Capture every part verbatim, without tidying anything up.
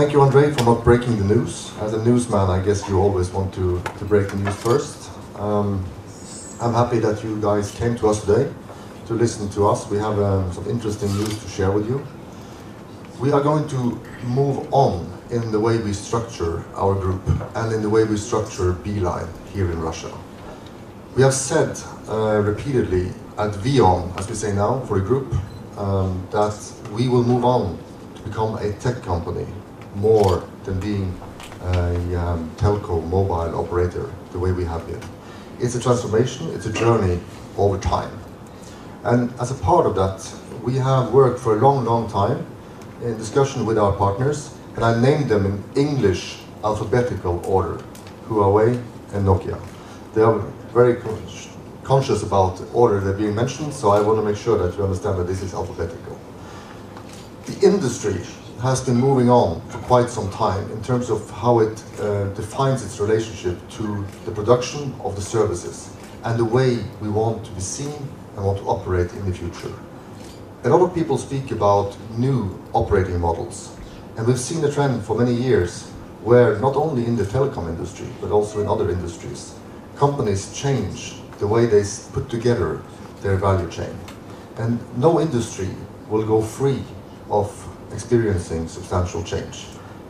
thank you, Andre, for not breaking the news. As a newsman, I guess you always want to, to break the news first. Um, I'm happy that you guys came to us today to listen to us. We have um, some interesting news to share with you. We are going to move on in the way we structure our group and in the way we structure Beeline here in Russia. We have said uh, repeatedly at VEON, as we say now, for a group, um, that we will move on to become a tech company more than being a um, telco mobile operator the way we have been. It's a transformation, it's a journey over time. And as a part of that, we have worked for a long, long time in discussion with our partners, and I named them in English alphabetical order, Huawei and Nokia. They are very con conscious about the order they're being mentioned, so I want to make sure that you understand that this is alphabetical. The industry has been moving on for quite some time in terms of how it uh, defines its relationship to the production of the services and the way we want to be seen and want to operate in the future. A lot of people speak about new operating models, and we've seen a trend for many years where not only in the telecom industry but also in other industries, companies change the way they put together their value chain. And no industry will go free of experiencing substantial change.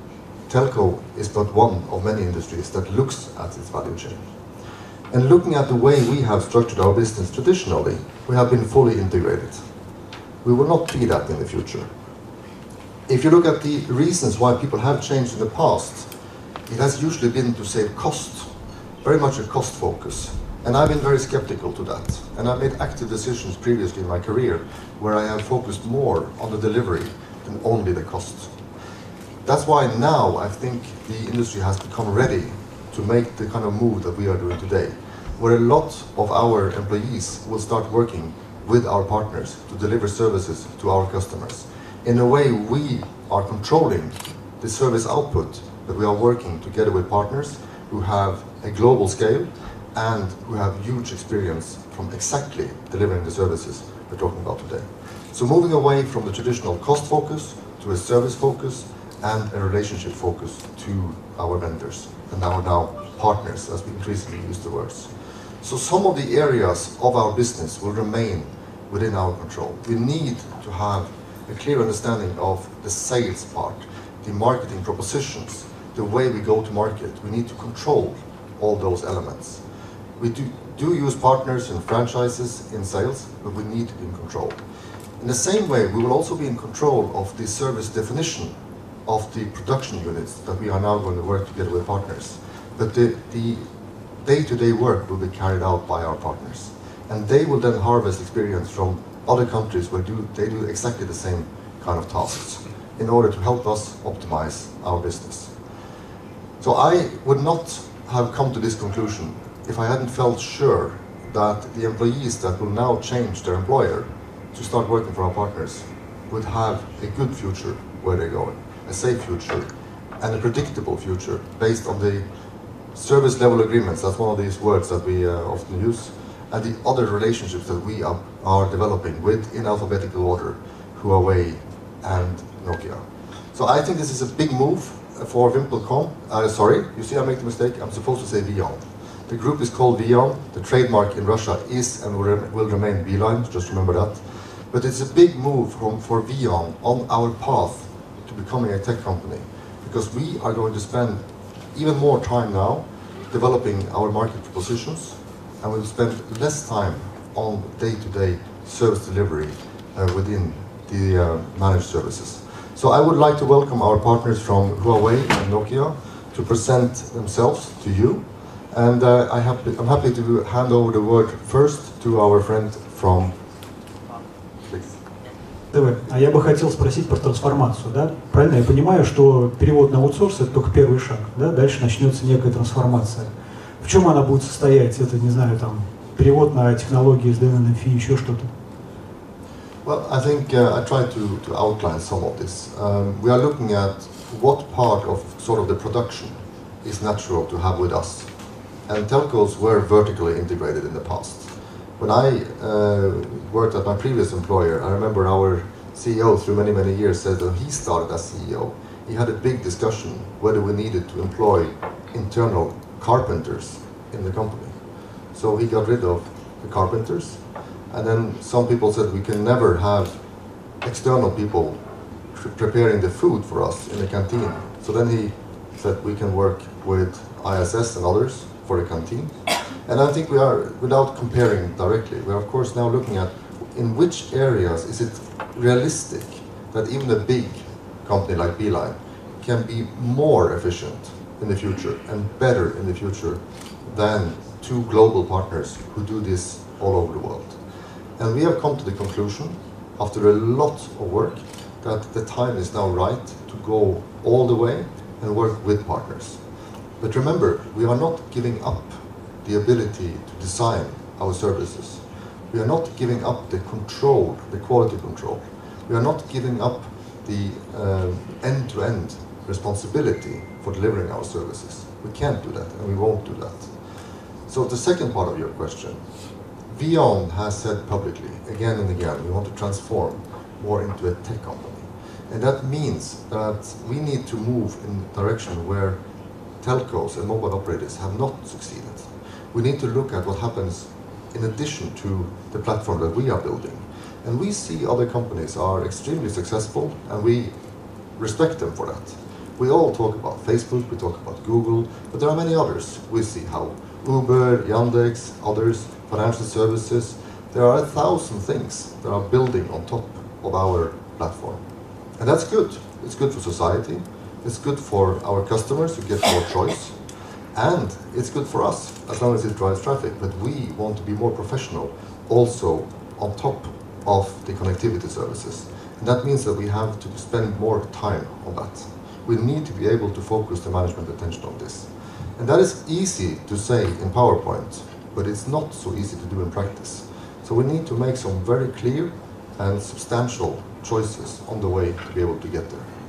Telco is but one of many industries that looks at its value chain. And looking at the way we have structured our business traditionally, we have been fully integrated. We will not be that in the future. If you look at the reasons why people have changed in the past, it has usually been to save cost, very much a cost focus. And I've been very skeptical to that. And I've made active decisions previously in my career where I have focused more on the delivery than only the cost. That's why now I think the industry has become ready to make the kind of move that we are doing today, where a lot of our employees will start working with our partners to deliver services to our customers. In a way, we are controlling the service output, but we are working together with partners who have a global scale and who have huge experience from exactly delivering the services we're talking about today. So moving away from the traditional cost focus to a service focus and a relationship focus to our vendors and our now partners, as we increasingly use the words. So some of the areas of our business will remain within our control. We need to have a clear understanding of the sales part, the marketing propositions, the way we go to market. We need to control all those elements. We do, do use partners and franchises in sales, but we need to be in control. In the same way, we will also be in control of the service definition of the production units that we are now going to work together with partners. But the, the day-to-day work will be carried out by our partners. And they will then harvest experience from other countries where do, they do exactly the same kind of tasks in order to help us optimize our business. So I would not have come to this conclusion if I hadn't felt sure that the employees that will now change their employer to start working for our partners would have a good future where they're going, a safe future, and a predictable future based on the service level agreements. That's one of these words that we uh, often use, and the other relationships that we are, are developing with, in alphabetical order, Huawei and Nokia. So I think this is a big move for VimpelCom. Uh, sorry, you see I make the mistake, I'm supposed to say VEON. The group is called VEON, the trademark in Russia is and will, re will remain Beeline, just remember that. But it's a big move from, for VEON on our path to becoming a tech company, because we are going to spend even more time now developing our market propositions, and we'll spend less time on day-to-day service delivery uh, within the uh, managed services. So I would like to welcome our partners from Huawei and Nokia to present themselves to you. And uh, I have, I'm happy to hand over the word first to our friend from... Please. Давай. А я бы хотел спросить про трансформацию, да? Правильно я понимаю, что перевод на аутсорс — это только первый шаг, да? Дальше начнется некая трансформация. В чем она будет состоять? Это, не знаю, там, перевод на технологии эс ди эн эф и, еще что-то? Well, I think uh, I tried to, to outline some of this. Um, we are looking at what part of sort of the production is natural to have with us. And telcos were vertically integrated in the past. When I uh, worked at my previous employer, I remember our C E O through many, many years said that he started as C E O. he had a big discussion whether we needed to employ internal carpenters in the company. So he got rid of the carpenters, and then some people said we can never have external people pre preparing the food for us in the canteen. So then he said we can work with I S S and others for the canteen. And I think we are, without comparing directly, we are of course now looking at in which areas is it realistic that even a big company like Beeline can be more efficient in the future and better in the future than two global partners who do this all over the world. And we have come to the conclusion, after a lot of work, that the time is now right to go all the way and work with partners. But remember, we are not giving up the ability to design our services. We are not giving up the control, the quality control. We are not giving up the uh, end-to-end responsibility for delivering our services. We can't do that, and we won't do that. So the second part of your question, VEON has said publicly, again and again, we want to transform more into a tech company. And that means that we need to move in the direction where telcos and mobile operators have not succeeded. We need to look at what happens in addition to the platform that we are building. And we see other companies are extremely successful, and we respect them for that. We all talk about Facebook, we talk about Google, but there are many others. We see how Uber, Yandex, others, financial services, there are a thousand things that are building on top of our platform. And that's good. It's good for society, it's good for our customers who get more choice, and it's good for us, as long as it drives traffic. But we want to be more professional also on top of the connectivity services. And that means that we have to spend more time on that. We need to be able to focus the management attention on this. And that is easy to say in PowerPoint, but it's not so easy to do in practice. So we need to make some very clear and substantial choices on the way to be able to get there.